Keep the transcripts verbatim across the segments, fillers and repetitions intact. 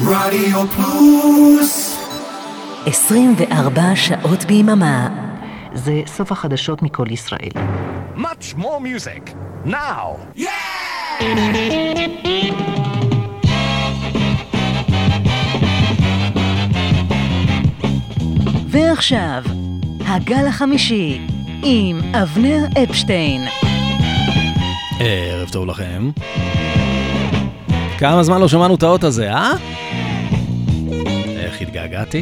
רדיו פלוס עשרים וארבע שעות ביממה. זה סוף החדשות מכל ישראל. Much more music now. Yeah! ועכשיו, הגל החמישי עם אבנר אפשטיין. ערב טוב לכם. כמה זמן לא שמענו את האות הזה, אה? איך התגעגעתי?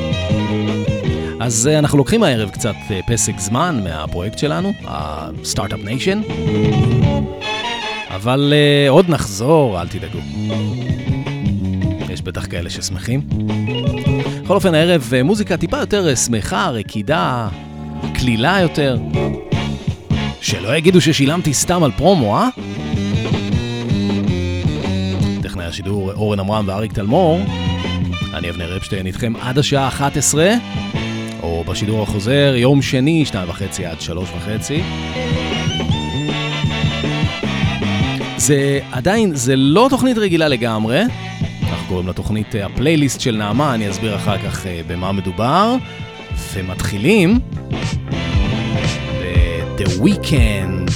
אז אנחנו לוקחים הערב קצת פסק זמן מהפרויקט שלנו, ה-Startup Nation. אבל uh, עוד נחזור, אל תדאגו. יש בטח כאלה ששמחים. בכל אופן, הערב מוזיקה טיפה יותר שמחה, רקידה, כלילה יותר. שלא יגידו ששילמתי סתם על פרומו, אה? טכנאי השידור אורן אמרם ואריק תלמור. אני אבנר אפשטיין איתכם עד השעה אחת עשרה, או בשידור החוזר יום שני, שתיים וחצי עד שלוש וחצי. זה עדיין, זה לא תוכנית רגילה לגמרי. אנחנו קוראים לתוכנית הפלייליסט של נעמה, אני אסביר אחר כך במה מדובר. ומתחילים ב-The Weeknd.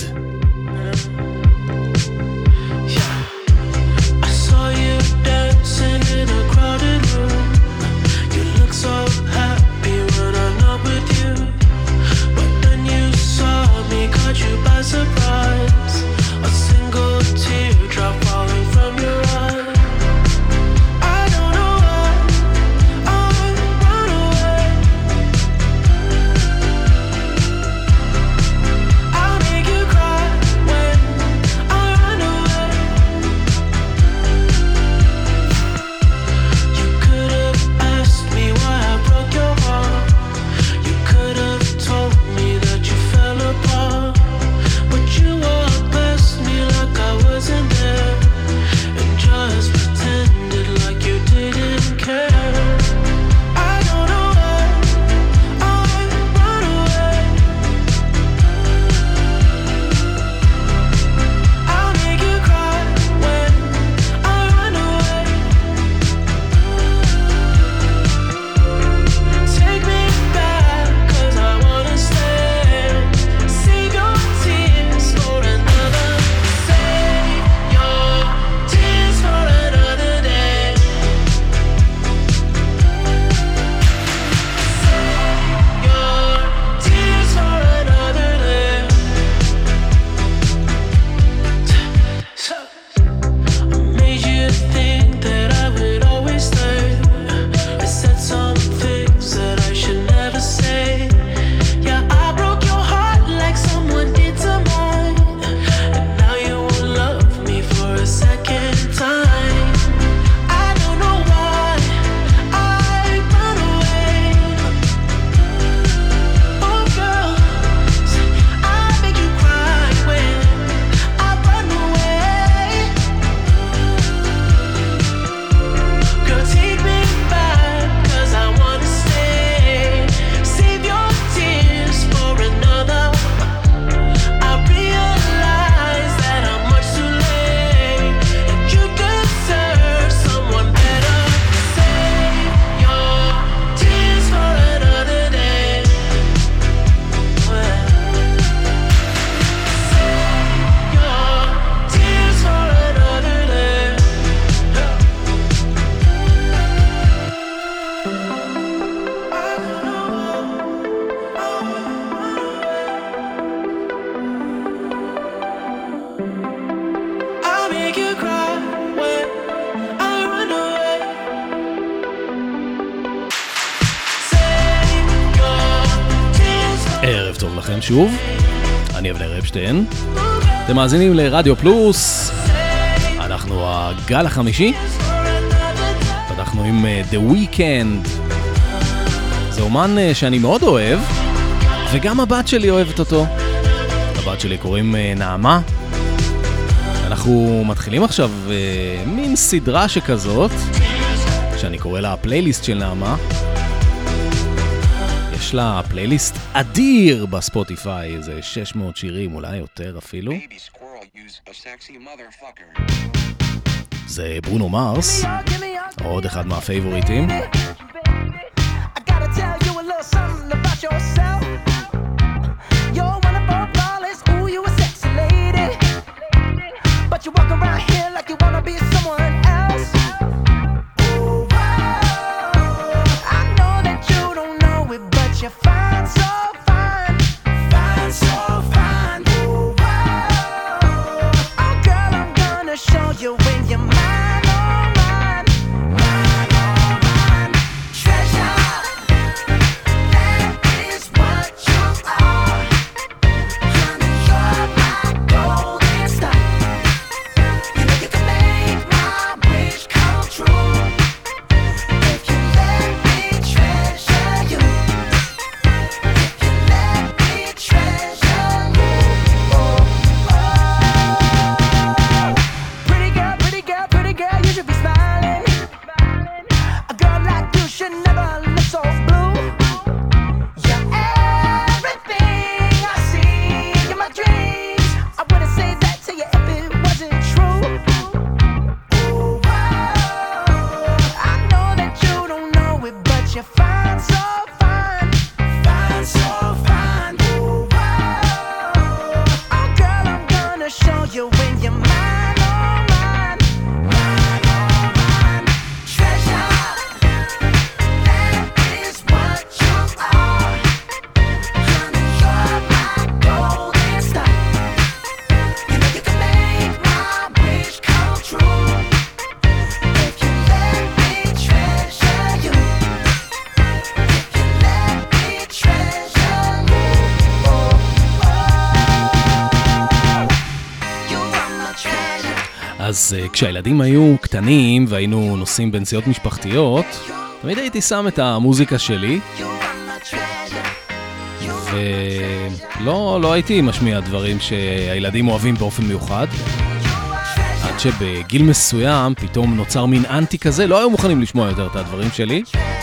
שוב, אני אבנר אפשטיין. אתם מאזינים לרדיו פלוס. אנחנו הגל החמישי. פתחנו עם The Weeknd. זה אומן שאני מאוד אוהב, וגם הבת שלי אוהבת אותו. הבת שלי קוראים נעמה. אנחנו מתחילים עכשיו מין סדרה שכזאת, שאני קורא לה הפלייליסט של נעמה. יש לה פלייליסט אדיר בספוטיפיי, איזה שש מאות שירים, אולי יותר אפילו. זה ברונו מרס, עוד אחד מהפייבוריטים. אז כשהילדים היו קטנים והיינו נוסעים בנסיעות משפחתיות, תמיד הייתי שם את המוזיקה שלי, ולא לא הייתי משמיע דברים שהילדים אוהבים באופן מיוחד. עד שבגיל מסוים פתאום נוצר מין אנטי כזה, לא היו מוכנים לשמוע יותר את הדברים שלי.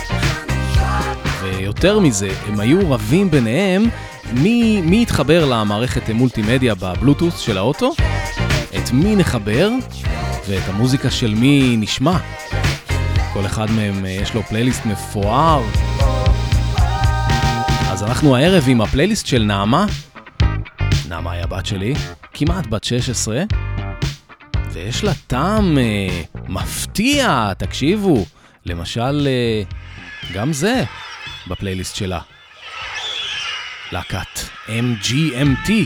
ויותר מזה, הם היו רבים ביניהם מי, מי יתחבר למערכת מולטימדיה בבלוטוס של האוטו, את מי נחבר ואת המוזיקה של מי נשמע. כל אחד מהם יש לו פלייליסט מפואר. אז אנחנו הערב עם הפלייליסט של נעמה. נעמה היא הבת שלי, כמעט בת שש עשרה, ויש לה טעם אה, מפתיע, תקשיבו. למשל, אה, גם זה בפלייליסט שלה. להקת אם ג'י אם טי.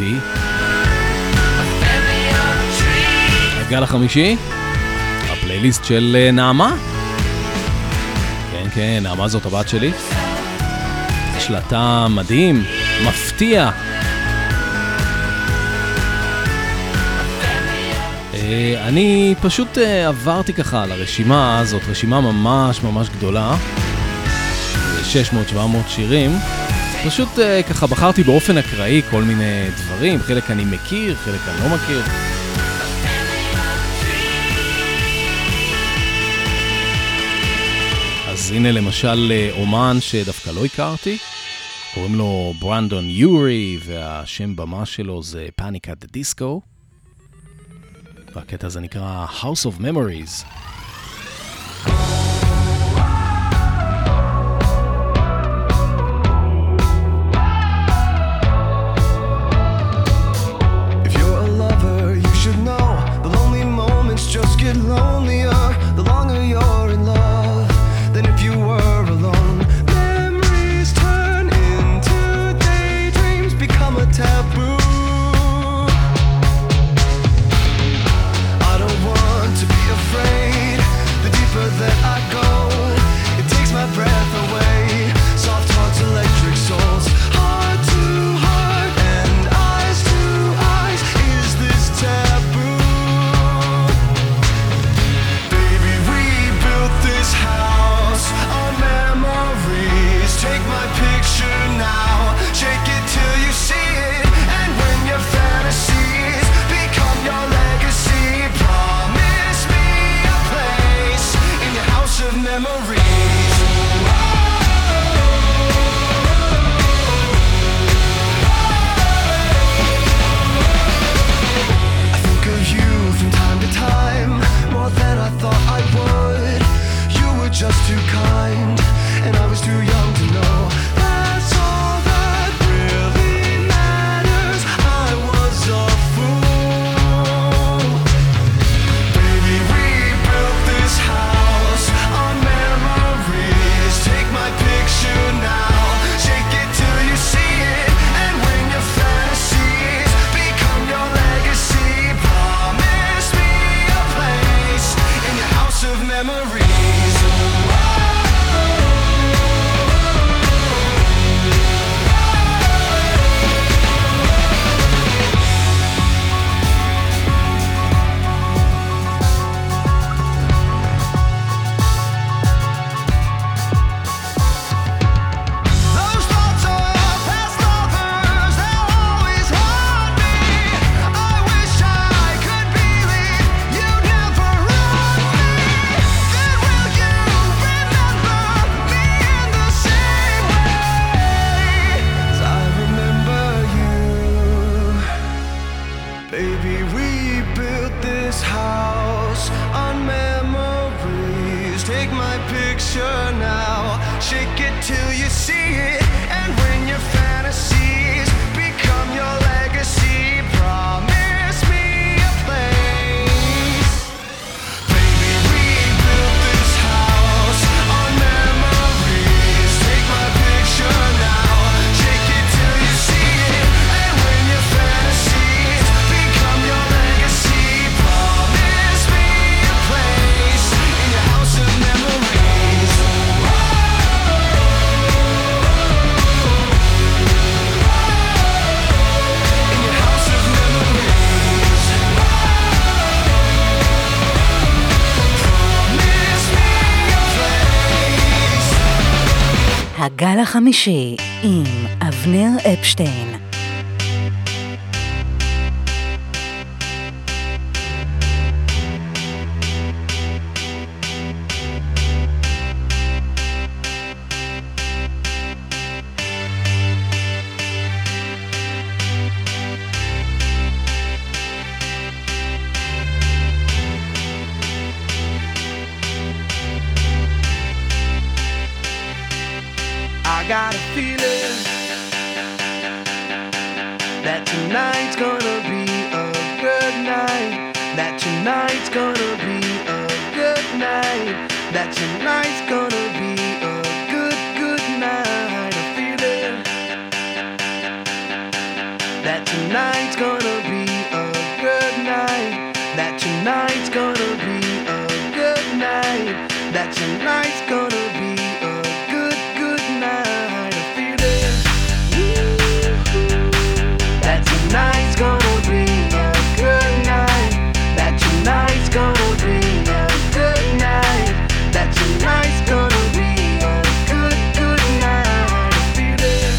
אותי. הגל החמישי, הפלייליסט של נעמה. כן, כן, נעמה זאת הבת שלי. יש לה טעם מדהים, מפתיע. אני פשוט עברתי ככה על הרשימה הזאת, רשימה ממש ממש גדולה, שש מאות שבע מאות שירים. פשוט ככה בחרתי באופן אקראי כל מיני דברים, חלק אני מכיר, חלק אני לא מכיר. אז הנה למשל אומן שדווקא לא הכרתי, קוראים לו ברנדון יורי, והשם במה שלו זה Panic at the Disco. והקטע הזה נקרא House of Memories. If you're a lover, you should know the lonely moments just get lonelier the longer you're in love than if you were alone. Memories turn into daydreams, become a taboo. Afraid, the deeper that I go, it takes my breath away. Soft hearts, electric souls, heart to heart and eyes to eyes. Is this taboo? Baby, we built this house on memories. Take my picture now, shake it till you see it. And when your fantasies become your legacy, of memories. I think of you from time to time, more than I thought I would. You were just too kind, and I was too young to know. That's all that really matters. I was a fool. Baby, we built this house on memories. Take my picture now, shake it till you see it. And when your fantasies become your legacy, promise me a place in your house of memories. הגל החמישי עם אבנר אפשטיין. I got a feeling that tonight's gonna be a good night. That tonight's gonna be a good night. That tonight's gonna be a good, good night. A feeling that tonight's gonna be a good night. That tonight's gonna be a good night. That tonight's gonna be a good, good night. I feel it. That tonight's gonna be a good night. That tonight's gonna be a good night. That tonight's gonna be a good, good night. I feel it.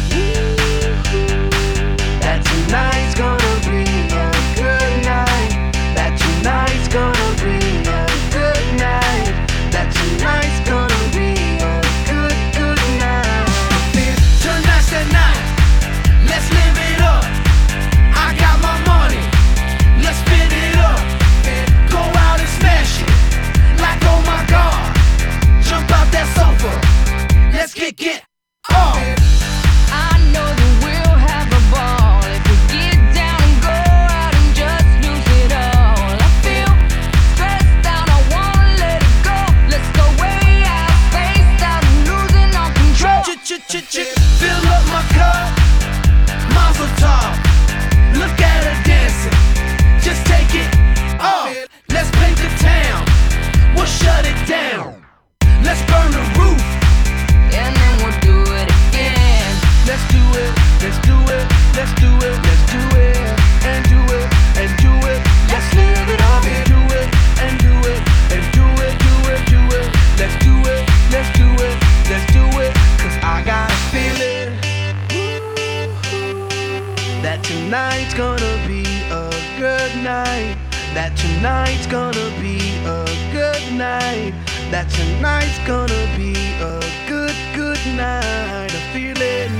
That tonight's gonna be a good night. That tonight's gonna be a good night. That tonight's gonna be a good, good night. Tonight's the night. Let's live it up. I got my money. Let's spin it up. Go out and smash it. Like oh my God. Jump out that sofa. Let's get get off. I know that we'll have a ball if we get down and go out and just lose it all. I feel stressed out, I wanna let it go. Let's go way out, spaced out, and losing all control. Fill up my cup. Mazel tov. Look at her dancing. Just take it off. Let's paint the town. We'll shut it down. Let's burn the roof. And then we'll do it again. Let's do it, let's do it, let's do it, let's do it, and do it, and do it, let's live it up and do it, and do it, and do it, do it, do it, let's do it, let's do it, let's do it, cause I got a feeling that tonight's gonna be a good night, that tonight's gonna be a good night, that tonight's gonna be a good, good night, a feeling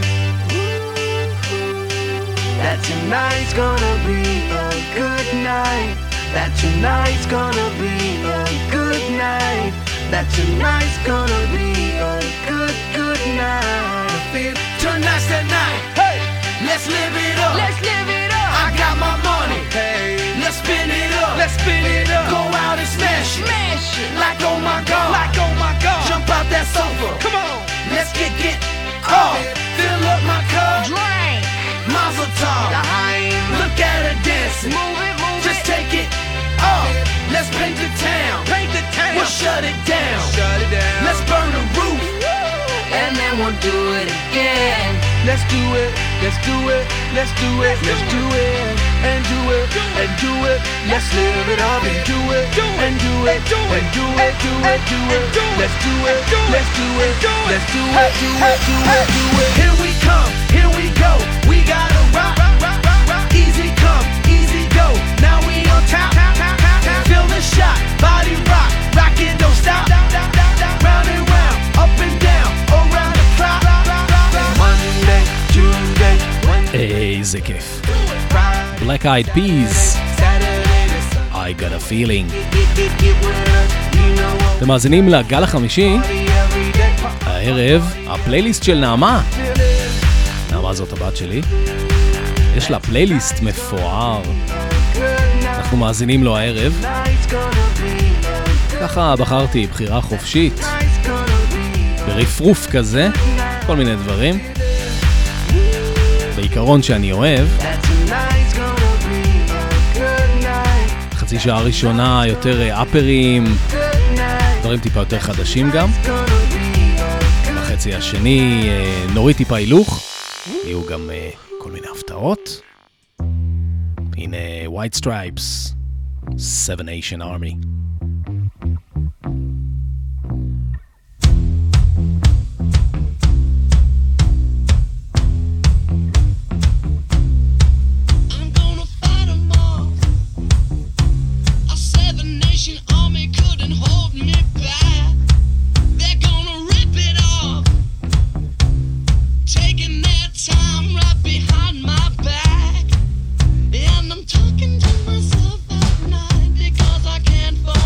that tonight's gonna be a good night, that tonight's gonna be a good night, that tonight's gonna be a good, good night, I feel tonight's the night, hey, let's live it up, Let's live it up. I got my money, hey, let's spin it up, let's spin it up, go out and smash it, Smash it. like oh my God, like oh my God, jump out that sofa, come on, let's get get off, fill up my cup, Drink. Mazel tov, look at her dancing, Move it, move just it. take it off, let's paint the town, paint the town, we'll shut it down, shut it down, let's burn the roof, And then we'll do it again. let's do it, let's do it, let's do it, let's do it, and do it, and do it, let's live it up and do it, and do it, and do it, do it, do it, let's do it, let's do it, let's do it, do it, do it, do it. Here we come, here we go, we gotta rock, easy come, easy go, now we on top, feel the shot, body rock, rock it, don't stop, round and round, up and down, around the clock, Monday, Tuesday, Wednesday, איזה כיף. Black Eyed Peas, I got a feeling. אתם מאזינים לגל החמישי, הערב, הפלייליסט של נעמה. נעמה זאת הבת שלי. יש לה פלייליסט מפואר. אנחנו מאזינים לו הערב. ככה בחרתי בחירה חופשית, ברפרוף כזה, כל מיני דברים. בעיקרון שאני אוהב. חצי שעה ראשונה יותר אפרים, דברים טיפה יותר חדשים גם. בחצי השני נוריד טיפה הילוך, יהיו גם כל מיני הפתעות. הנה White Stripes, Seven Nation Army. I'm gonna fight 'em all. A seven nation army couldn't hold me back. They're gonna rip it off, taking their time right behind my back. And I'm talking to myself at night because I can't fall.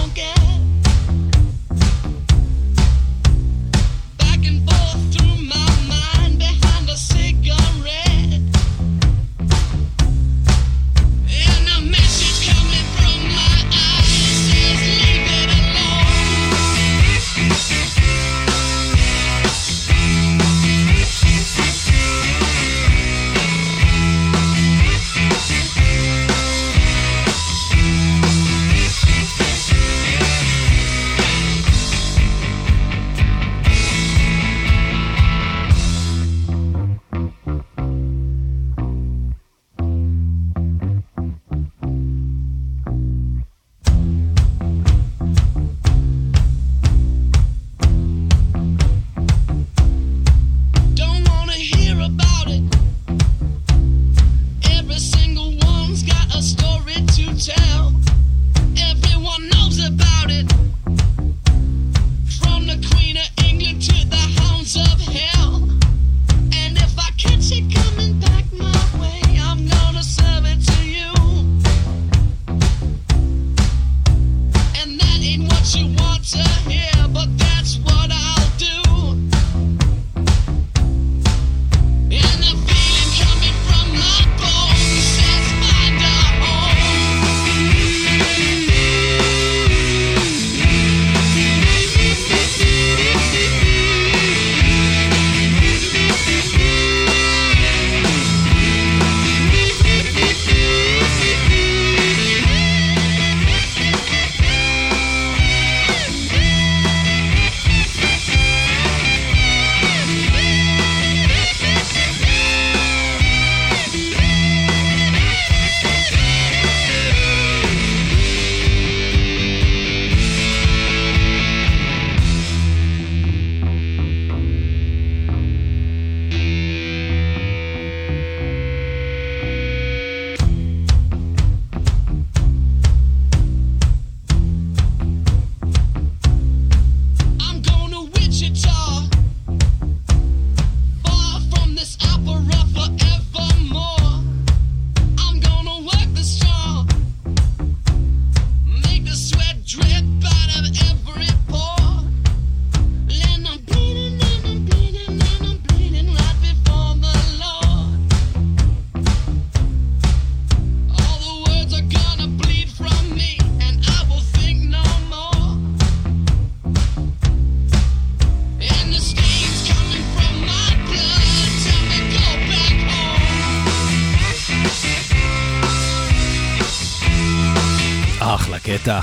הקטע.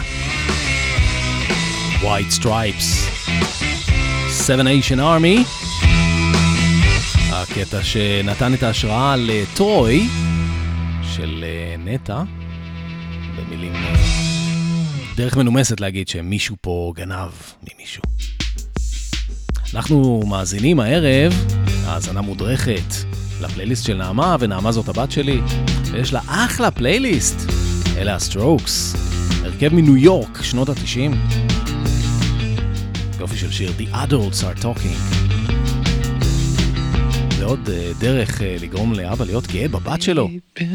White Stripes, Seven Nation Army, הקטע שנתן את ההשראה לטרוי של נטה, במילים דרך מנומסת להגיד שמישהו פה גנב ממישהו. אנחנו מאזינים הערב, האזנה מודרכת לפלייליסט של נעמה, ונעמה זאת הבת שלי, ויש לה אחלה פלייליסט. אלה הסטרוקס, הרכב מניו יורק, שנות ה-תשעים. יופי של שיר The Adults Are Talking. זה עוד uh, דרך uh, לגרום לאבא להיות גאה בבת שלו.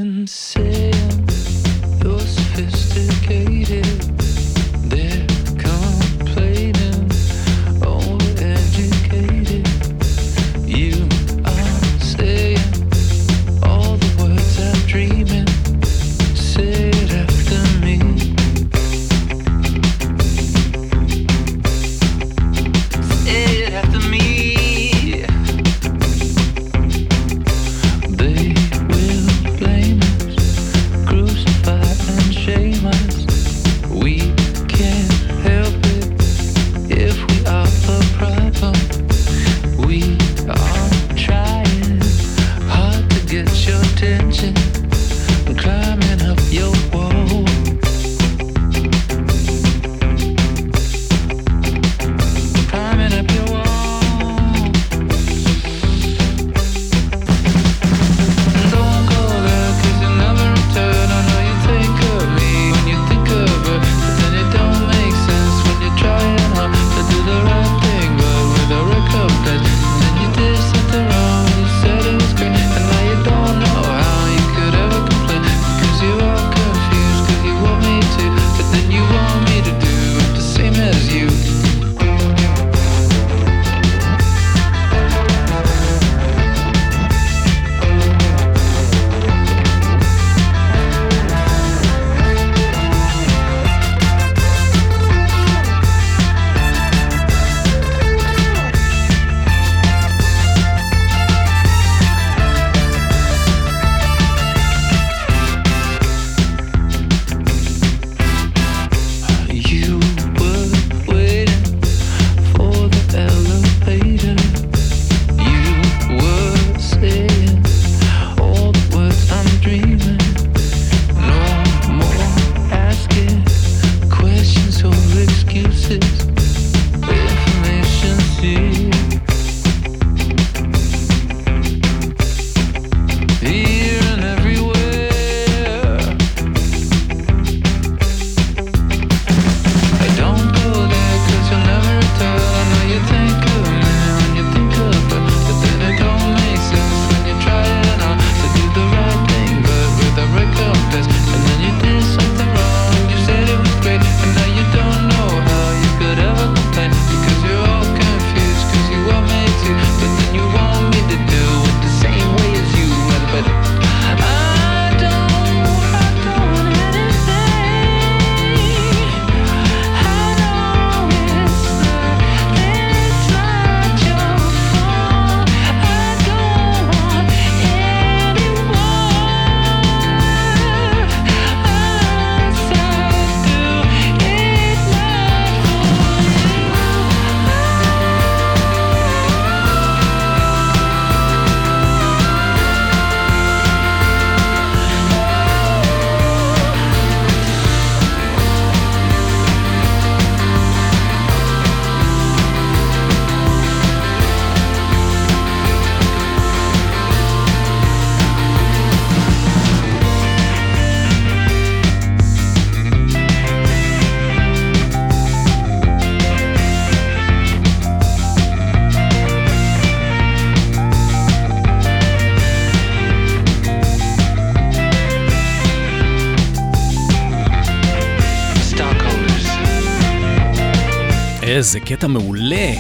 איזה קטע מעולה.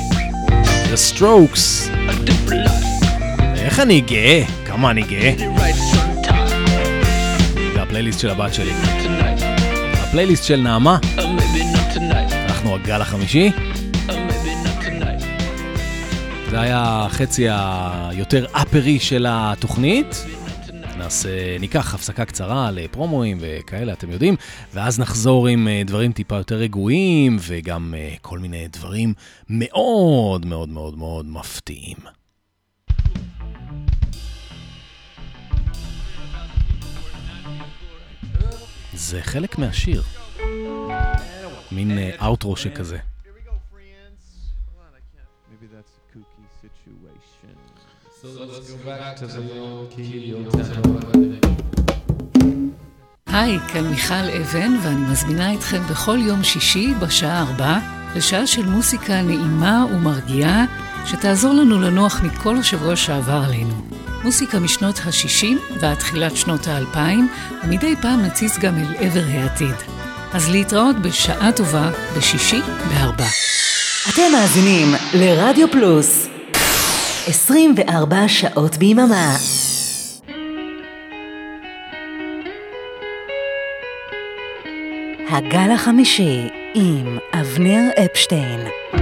The Strokes. איך אני גאה, כמה אני גאה. זה הפלייליסט של הבת שלי. הפלייליסט של נעמה. אנחנו הגל החמישי. זה היה החצי היותר אפרי של התוכנית. נעשה, ניקח הפסקה קצרה לפרומואים וכאלה, אתם יודעים, ואז נחזור עם דברים טיפה יותר רגועים, וגם כל מיני דברים מאוד מאוד מאוד מאוד מפתיעים. זה חלק מהשיר. מין אאוטרו שכזה. היי, כאן מיכל אבן, ואני מזמינה אתכם בכל יום שישי בשעה ארבע לשעה של מוסיקה נעימה ומרגיעה שתעזור לנו לנוח מכל השבוע שעבר עלינו. מוסיקה משנות ה-שישים ועד תחילת שנות ה-אלפיים, ומדי פעם נציץ גם אל עבר העתיד. אז להתראות בשעה טובה בשישי בארבע. אתם מאזינים לרדיו פלוס עשרים וארבע שעות ביממה. הגל החמישי עם אבנר אפשטיין.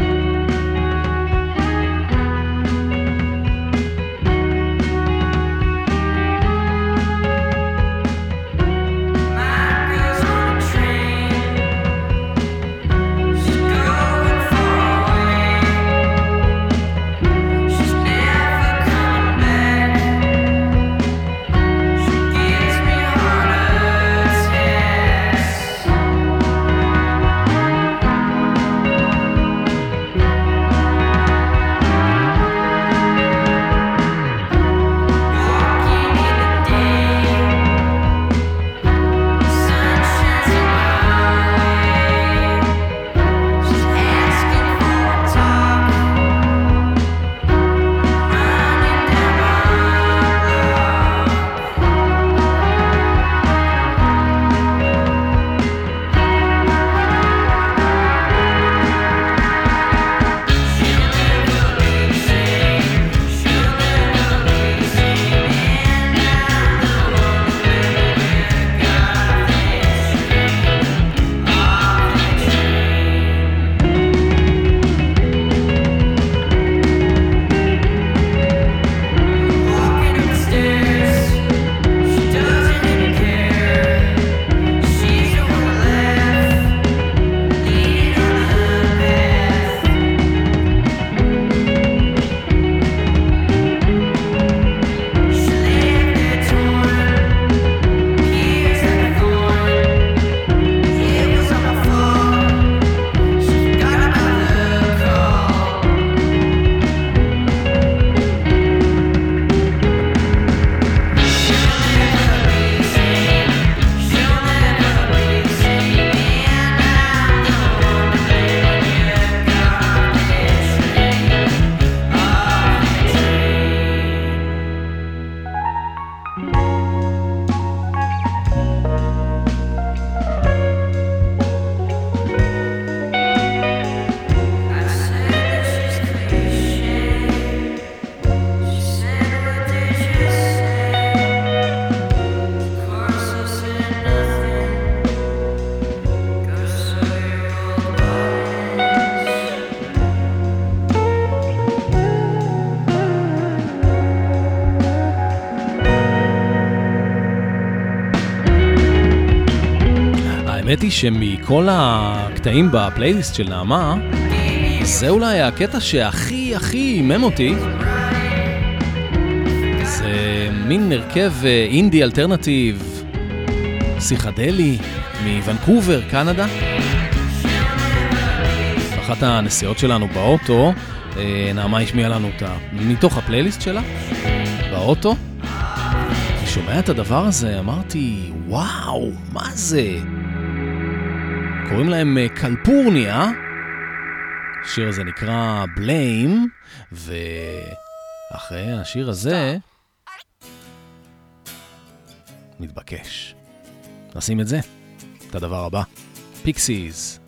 האמת היא שמכל הקטעים בפלייליסט של נעמה, זה אולי הקטע שהכי הכי אימם אותי. זה מין הרכב אינדי אלטרנטיב, פסיכדלי, מוונקובר, קנדה. אחת הנסיעות שלנו באוטו, נעמה השמיעה לנו אותה מתוך הפלייליסט שלה, באוטו. אני שומע את הדבר הזה, אמרתי, וואו, מה זה? קוראים להם קלפורניה, השיר הזה נקרא בליים, ואחרי השיר הזה מתבקש נשים את זה, את הדבר הבא, פיקסיז.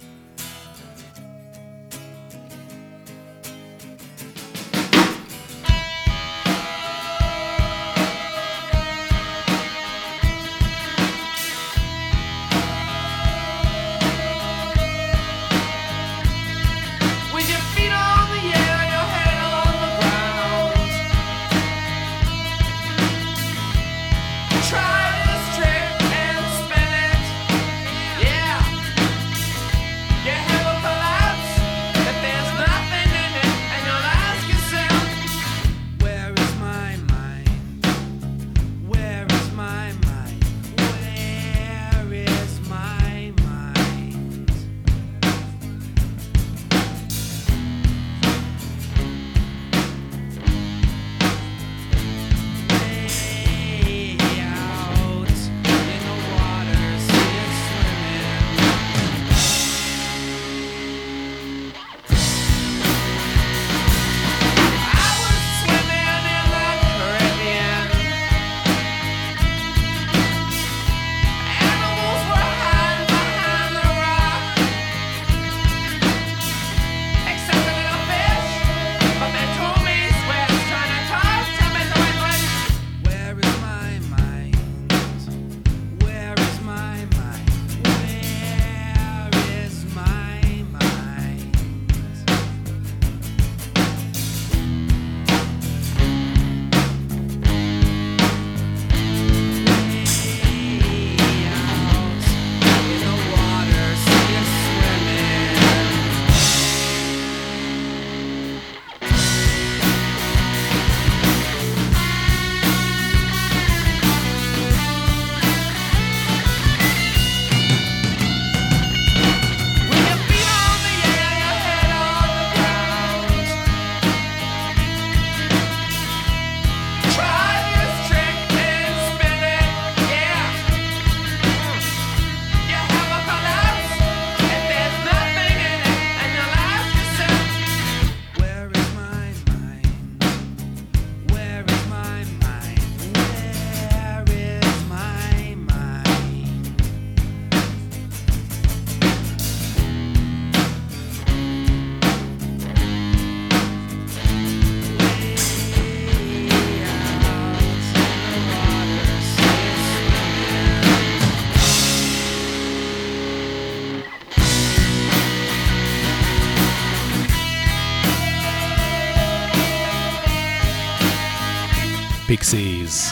פיקסיז.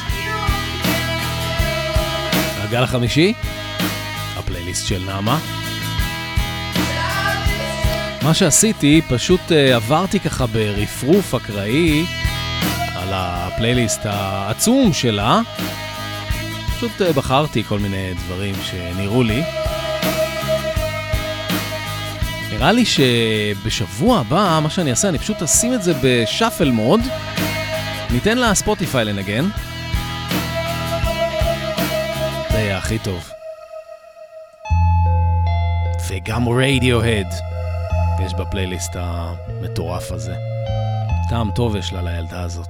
הגל החמישי, הפלייליסט של נעמה. מה שעשיתי, פשוט uh, עברתי ככה ברפרוף אקראי על הפלייליסט העצום שלה. פשוט uh, בחרתי כל מיני דברים שנראו לי. נראה לי שבשבוע הבא, מה שאני אעשה, אני פשוט אשים את זה בשאפל מוד. ניתן לה ספוטיפיי לנגן. זה יהיה הכי טוב. וגם רדיוהד יש בפלייליסט המטורף הזה. טעם טוב יש לה לילדה הזאת.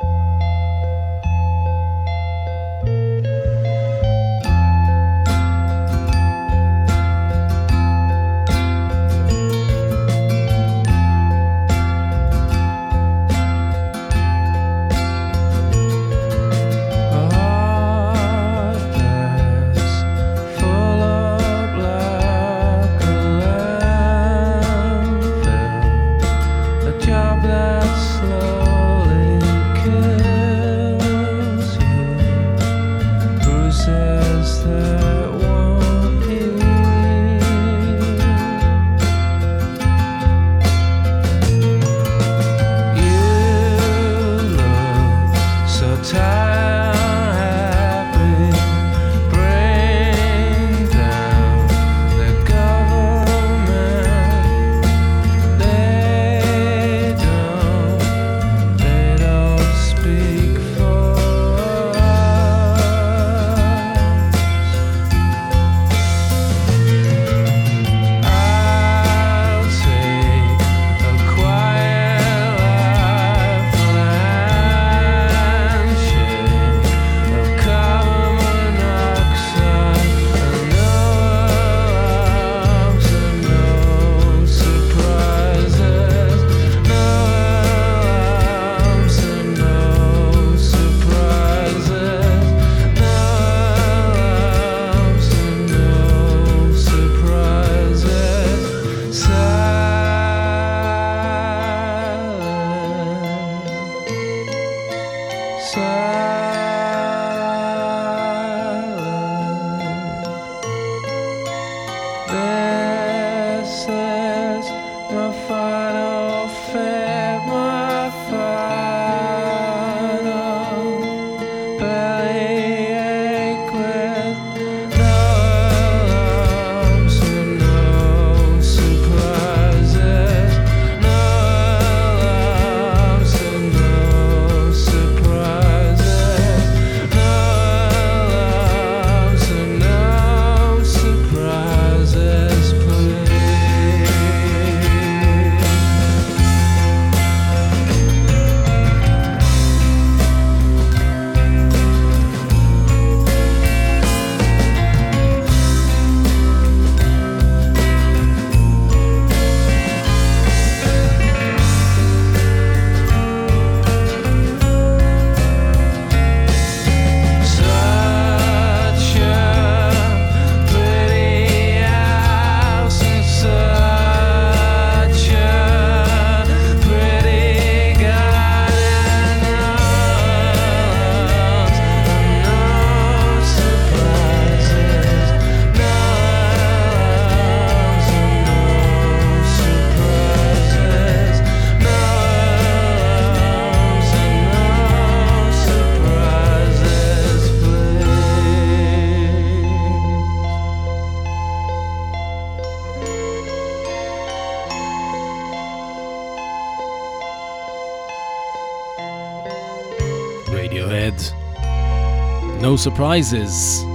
No Surprises.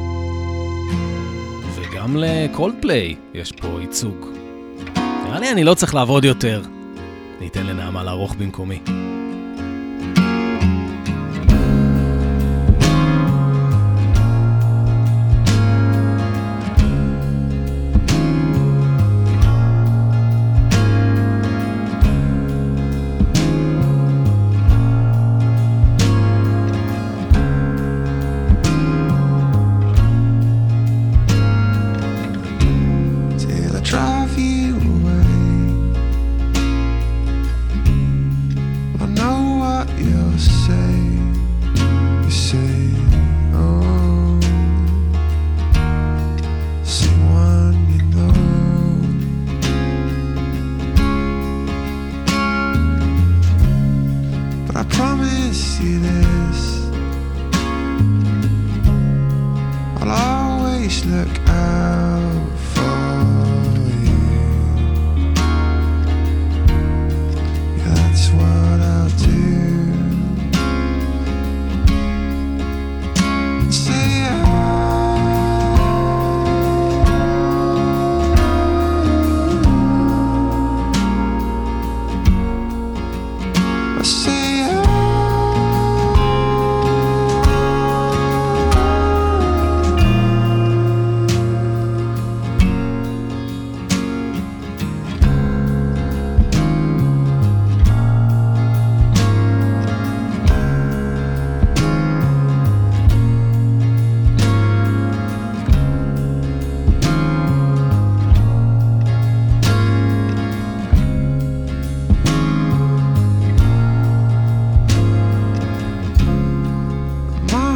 וגם לקולדפליי יש פה ייצוג. נראה לי אני לא צריך לעבוד יותר. ניתן לנעמה לערוך במקומי. When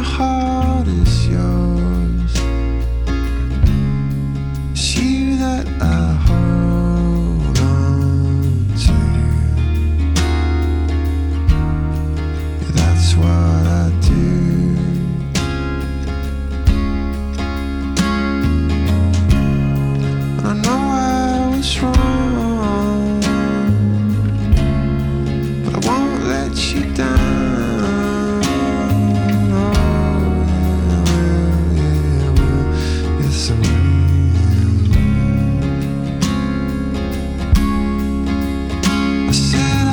heart is yours. It's you that I hold on to. That's what I do. I know I was wrong, but I won't let you down. Oh, yeah, I will, yeah, I will. Yes, I will. I said,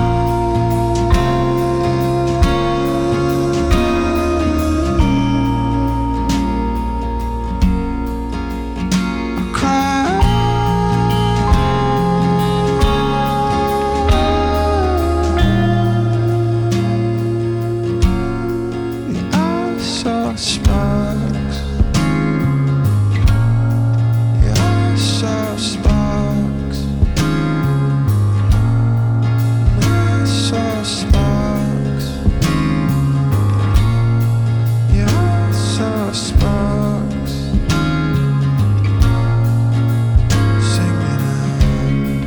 I cried. I saw sparks. Yeah, I saw sparks. I saw sparks. Yeah, I saw sparks. Singing out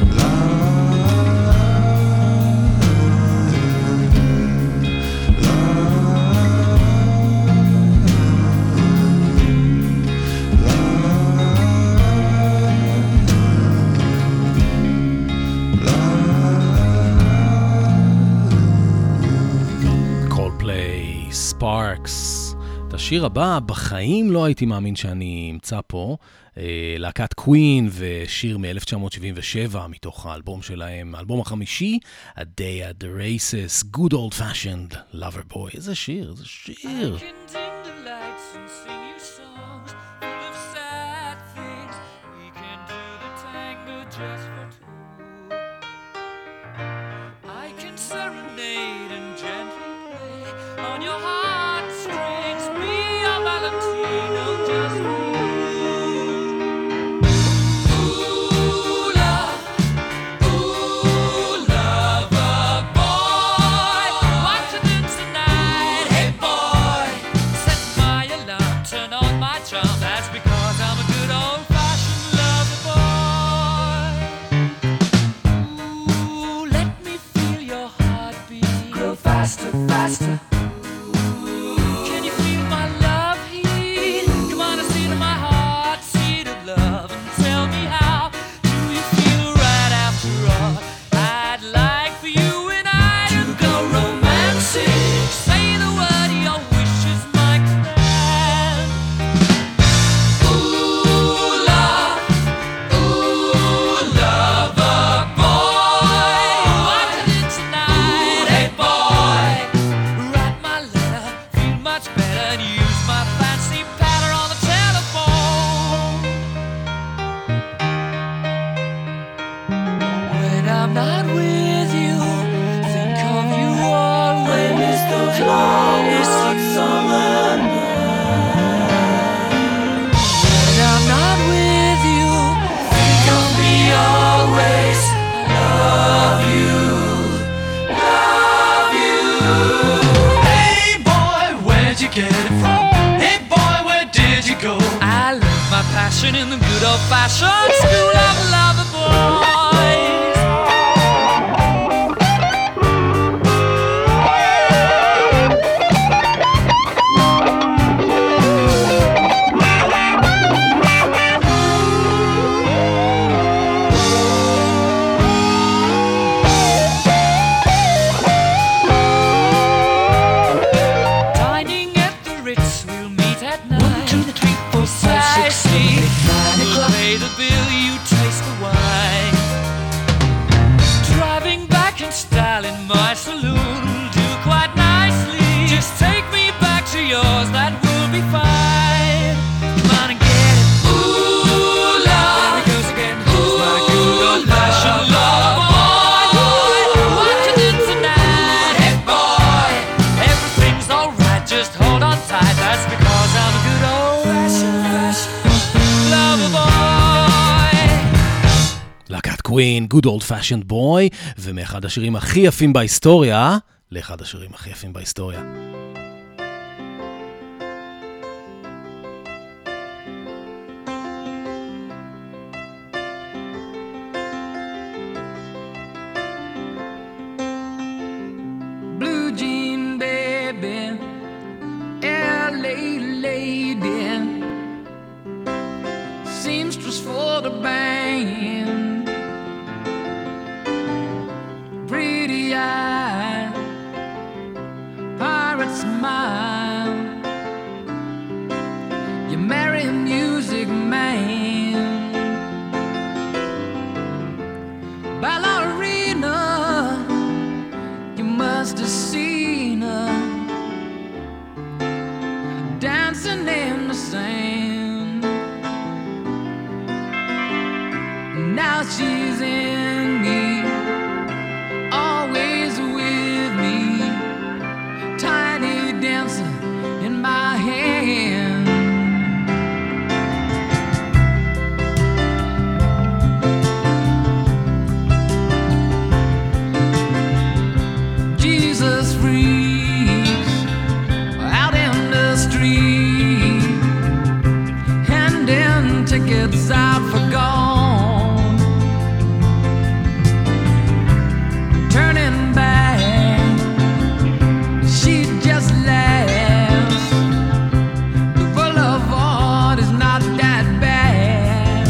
קולפליי, ספארקס. את השיר הבא, בחיים לא הייתי מאמין שאני אמצא פה. אה, להקת קווין ושיר מ-אלף תשע מאות שבעים ושבע מתוך האלבום שלהם, האלבום החמישי, A Day at the Races, Good Old Fashioned Lover Boy. איזה שיר, איזה שיר. Faster, faster. Can you feel my love heat? Come on and see to my heart, seed of love, and tell me how do you feel right after all? I'd like for you and I to go romantic. Say the word, your wish is my command. Ooh, love, ooh, lover boy, watching it tonight, hey boy. Write my letter, feel much better, and use my fancy pattern on the telephone. When I'm not with you, think of you always. Miss those long hot summer nights. When I'm not with you, think of me always. I love you, love you. Hey boy, where'd you get it from? Hey boy, where did you go? I learned my passion in the good old-fashioned school of lover boys. Dining at the Ritz, we'll meet at night. One, two, three, four, five, six, seven, eight, nine o'clock. Pay the bill, you taste the wine. Driving back in style in my saloon will do quite nicely. Just take me back to yours, that will be fine. Come on and get it. Ooh, love. There it goes again. Ooh, my good old-fashioned love boy. What you did tonight, hey boy. Everything's alright, just hold on tight. That's because I'm a good old-fashioned lover boy. להקת קווין, Good Old Fashioned Boy, ומאחד השירים הכי יפים בהיסטוריה, לאחד השירים הכי יפים בהיסטוריה. dancing in the sand. Now she's in me, always with me, tiny dancer in my hand. Jesus freaks out in the street, handing tickets out for gone, turning back, she just laughs. The boulevard is not that bad.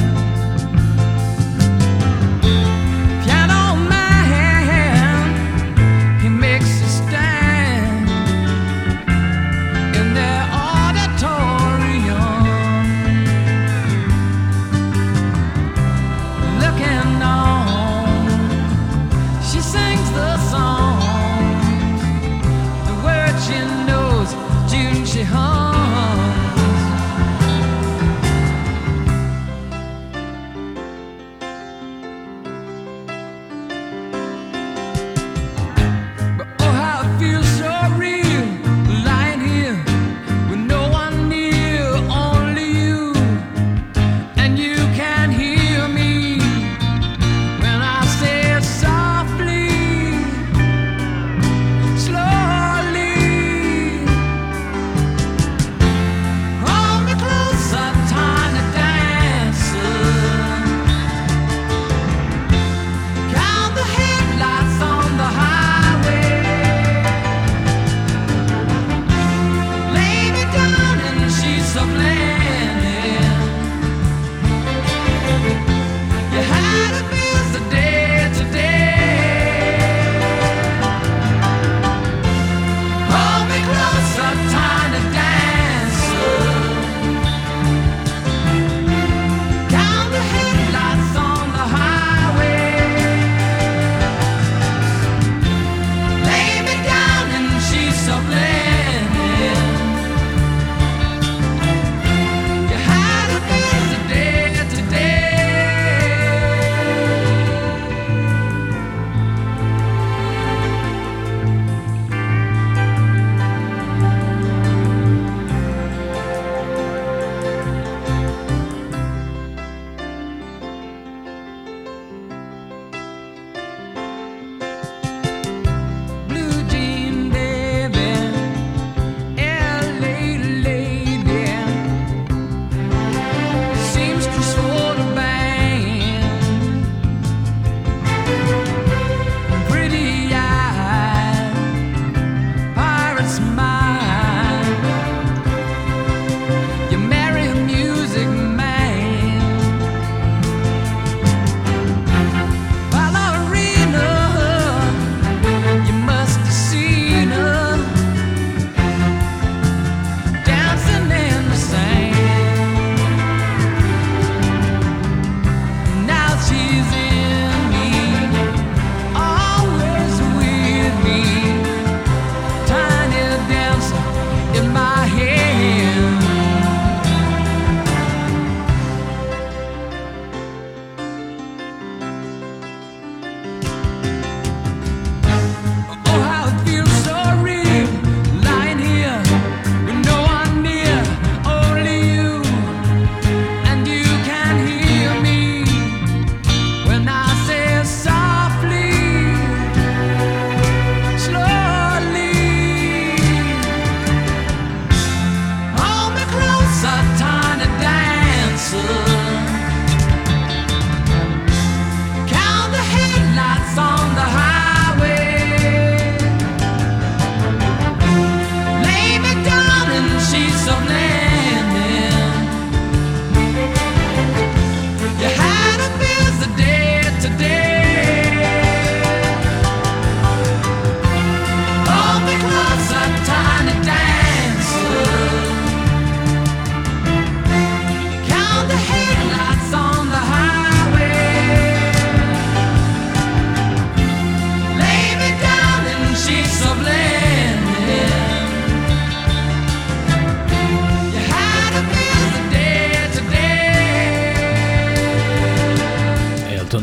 Piano man, he makes a stand in their order.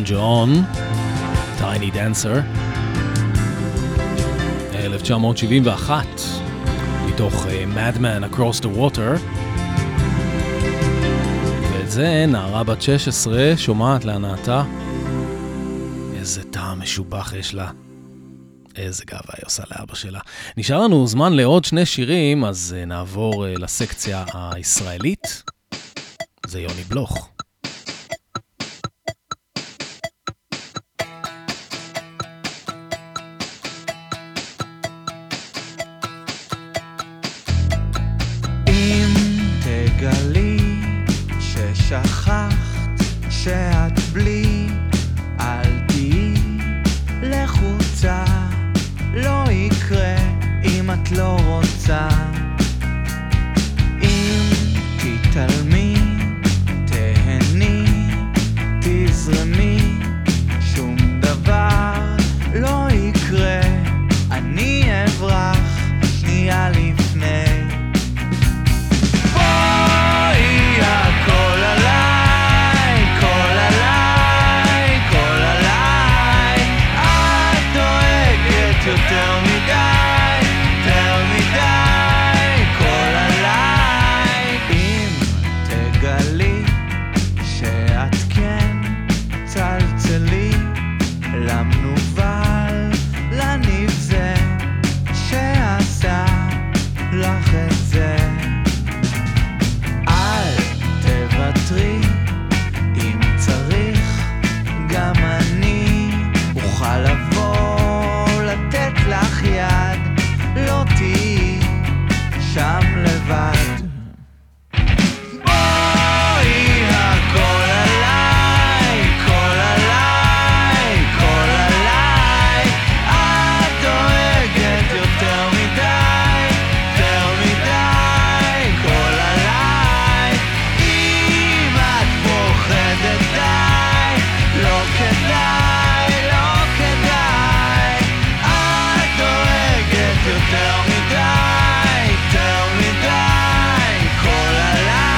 ג'ון, Tiny Dancer, אלף תשע מאות שבעים ואחת, מתוך uh, Madman Across the Water. ואת זה נערה בת שש עשרה שומעת להנאתה. איזה טעם משובח יש לה. איזה גאווה היא עושה לאבא שלה. נשאר לנו זמן לעוד שני שירים, אז uh, נעבור uh, לסקציה הישראלית. זה יוני בלוך. אם תגלי ששכחת שאת בלי, אל תהי לחוצה, לא יקרה אם את לא רוצה. אם תתעלמי, תהני, תזרמי, שום דבר לא יקרה, אני אברח שנייה לפני. בואי הכל עליי, כל עליי, כל עליי, את דואגת יותר מדי, יותר מדי, כל עליי. אם תגלי שאת כן צלצלי למנובל, לנבזה שעשה לך את זה. אל תוותרי, אם צריך גם אני אוכל לבוא לתת לך יד, לא תהיי שם לבד. בואי הכל עליי, כל עליי, כל עליי, את דואגת יותר מדי, יותר מדי, כל עליי. אם את פוחדת די, לא כדאי, לא כדאי, את דואגת יותר מדי, יותר מדי, כל עליי.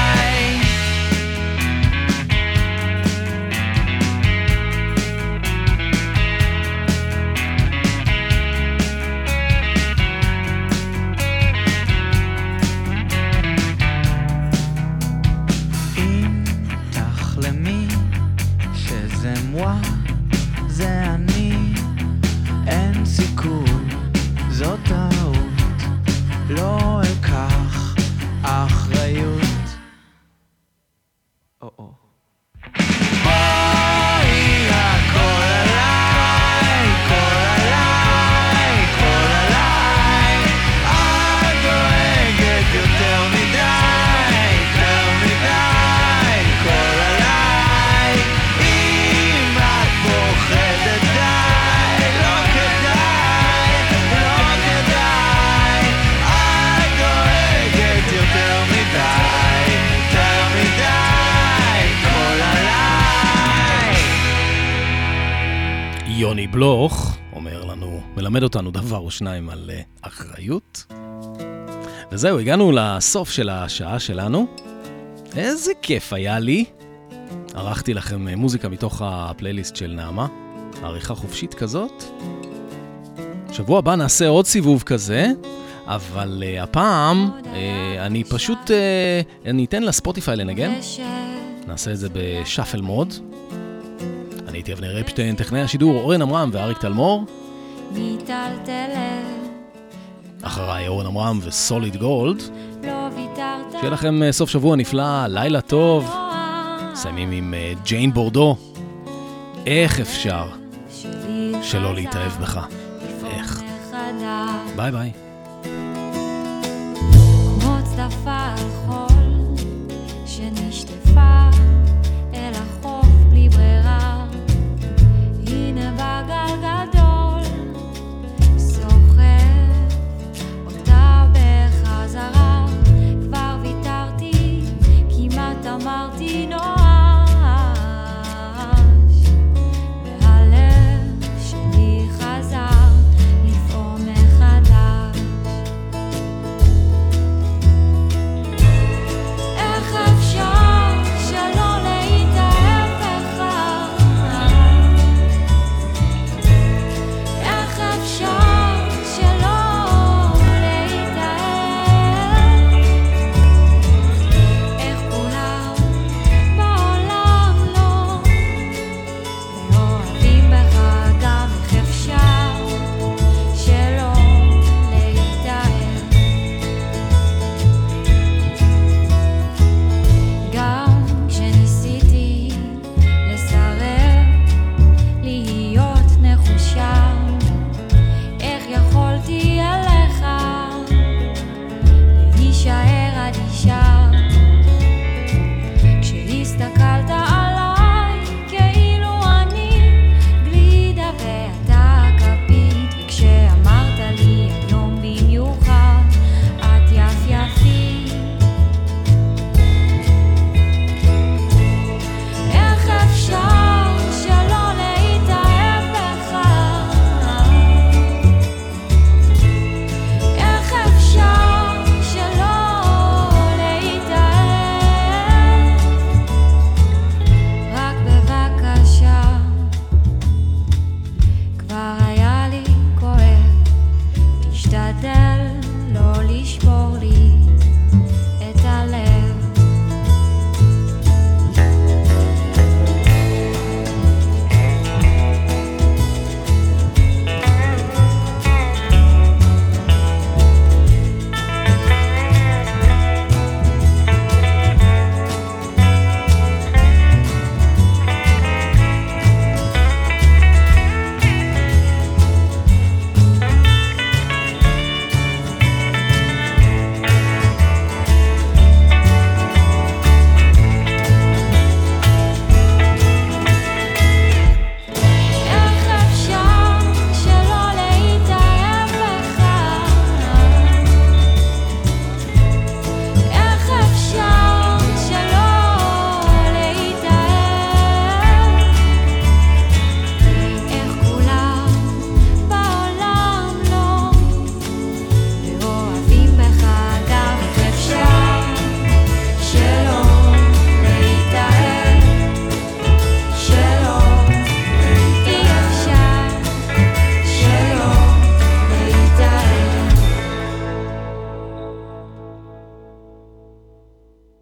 אם תחלמי שזה מואה, זה אני, אין סיכוי, זאת טעות, לא אקח אחריות. או-או. בואי הכל עליי, כל עליי, כל עליי, את דואגת יותר מדי, יותר מדי, כל עליי. אם את פוחדת די, לא כדאי, לא כדאי, את דואגת יותר מדי, יותר מדי, כל עליי. יוני בלוך אומר לנו, מלמד אותנו דבר או שניים על uh, אחריות. וזהו, הגענו לסוף של השעה שלנו. איזה כיף היה לי. ערכתי לכם uh, מוזיקה מתוך הפלייליסט של נעמה, עריכה חופשית כזאת. שבוע הבא נעשה עוד סיבוב כזה, אבל uh, הפעם uh, אני פשוט, uh, אני אתן לספוטיפיי לנגן. נעשה את זה בשאפל מוד. אני הייתי אבנר אפשטיין, טכנאי השידור אורן עמרם ואריק תלמור. אחריי אורן עמרם וסוליד גולד. שיהיה לכם uh, סוף שבוע נפלא, לילה טוב. סיימים עם uh, ג'יין בורדו. איך אפשר שלא להתאהב בך? איך? ביי ביי.